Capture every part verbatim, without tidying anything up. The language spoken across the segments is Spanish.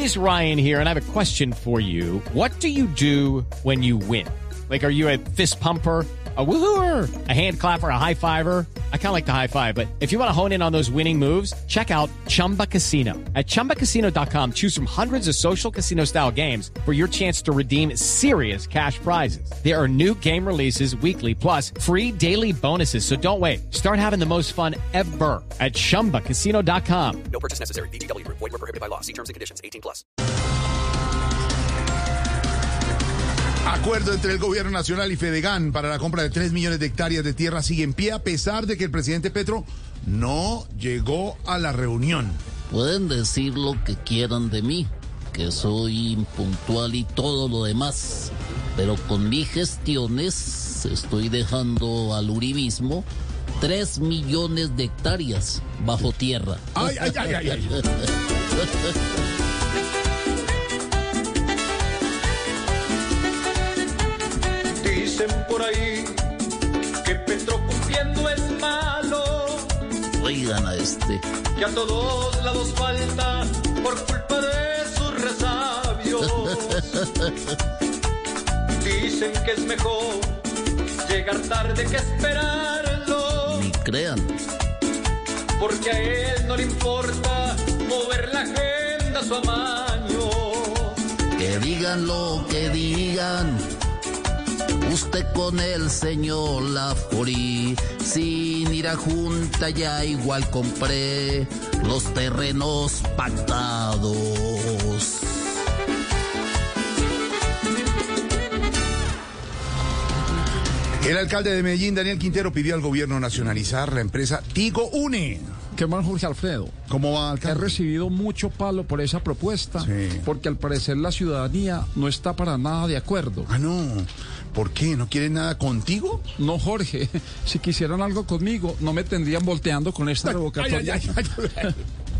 is Ryan here, and I have a question for you. What do you do when you win? Like, are you a fist pumper, a woohooer, a hand clapper, a high fiver? I kind of like the high five, but if you want to hone in on those winning moves, check out Chumba Casino. At chumba casino dot com, choose from hundreds of social casino style games for your chance to redeem serious cash prizes. There are new game releases weekly, plus free daily bonuses. So don't wait. Start having the most fun ever at chumba casino dot com. No purchase necessary. V G W Group. Void where prohibited by law. See terms and conditions. eighteen plus. Acuerdo entre el gobierno nacional y Fedegan para la compra de tres millones de hectáreas de tierra sigue en pie a pesar de que el presidente Petro no llegó a la reunión. Pueden decir lo que quieran de mí, que soy impuntual y todo lo demás, pero con mis gestiones estoy dejando al uribismo tres millones de hectáreas bajo tierra. Ay, ay, ay, ay, ay. Dicen por ahí que Petro cumpliendo es malo. Oigan a este. Que a todos lados falta por culpa de sus resabios. Dicen que es mejor llegar tarde que esperarlo. Ni crean. Porque a él no le importa mover la agenda a su amaño. Que digan lo que digan. Usted con el señor Lafori, sin ir a junta ya igual compré los terrenos pactados. El alcalde de Medellín, Daniel Quintero, pidió al gobierno nacionalizar la empresa Tigo Une. ¿Qué más, Jorge Alfredo? ¿Cómo va, He alcalde? recibido mucho palo por esa propuesta, Sí. porque al parecer la ciudadanía no está para nada de acuerdo. Ah, no. ¿Por qué? ¿No quieren nada contigo? No, Jorge, si quisieran algo conmigo, no me tendrían volteando con esta revocatoria. Ay, ay, ay, ay.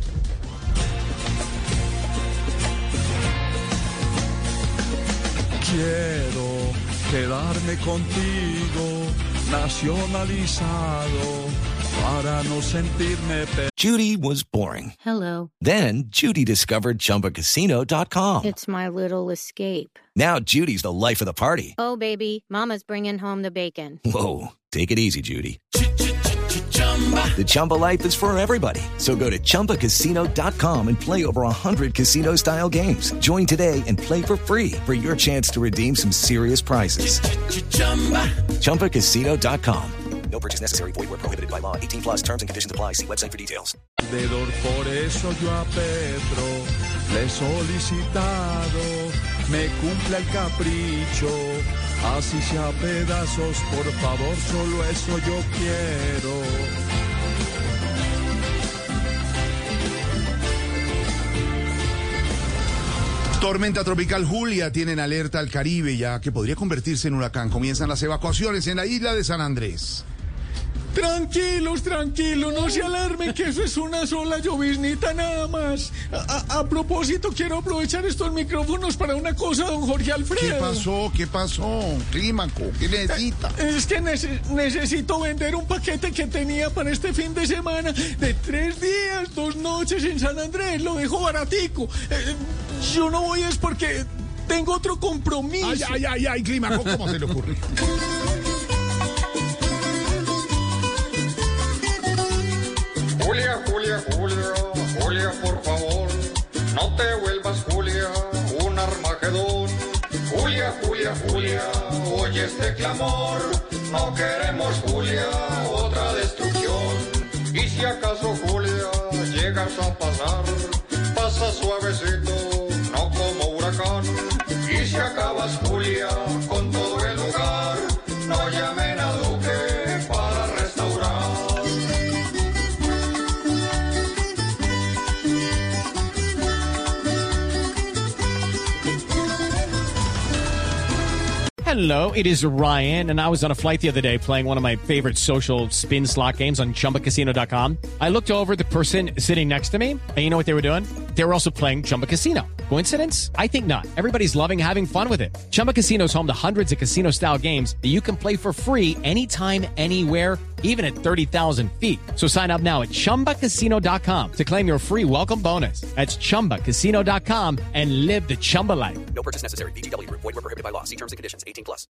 Quiero quedarme contigo, nacionalizado, para no sentirme pe... Judy was boring. Hello. Then Judy discovered Chumba Casino dot com. It's my little escape. Now Judy's the life of the party. Oh, baby, mama's bringing home the bacon. Whoa, take it easy, Judy. The Chumba life is for everybody. So go to chumba casino dot com and play over one hundred casino-style games. Join today and play for free for your chance to redeem some serious prizes. chumba casino dot com. No purchase necessary. Void where prohibited by law. eighteen plus terms and conditions apply. See website for details. Por eso yo a Petro le he solicitado, me cumpla el capricho, así sea a pedazos, por favor, solo eso yo quiero. Tormenta tropical Julia tiene en alerta al Caribe, ya que podría convertirse en huracán. Comienzan las evacuaciones en la isla de San Andrés. Tranquilos, tranquilos, no se alarmen, que eso es una sola lloviznita nada más. A, a, a propósito, quiero aprovechar estos micrófonos para una cosa, don Jorge Alfredo. ¿Qué pasó? ¿Qué pasó? Clímaco, ¿qué necesita? Es que nece- necesito vender un paquete que tenía para este fin de semana de tres días, dos noches en San Andrés. Lo dejo baratico. Eh, yo no voy es porque tengo otro compromiso. Ay, ay, ay, ay, Clímaco, ¿cómo se le ocurre? Julia, Julia, Julia, Julia, por favor, no te vuelvas, Julia, un Armagedón. Julia, Julia, Julia, oye este clamor, no queremos, Julia, otra destrucción. Y si acaso, Julia, llegas a pasar, pasa suavecito, no como huracán. Y si acabas, Julia, con todo el lugar, no llamen a Duque para restaurar. Hello, it is Ryan, and I was on a flight the other day playing one of my favorite social spin slot games on chumba casino dot com. I looked over at the person sitting next to me, and you know what they were doing? They were also playing Chumba Casino. Coincidence? I think not. Everybody's loving having fun with it. Chumba Casino is home to hundreds of casino-style games that you can play for free anytime, anywhere, even at thirty thousand feet. So sign up now at chumba casino dot com to claim your free welcome bonus. That's chumba casino dot com and live the Chumba life. No purchase necessary. V G W. Void where prohibited by law. See terms and conditions. eighteen plus.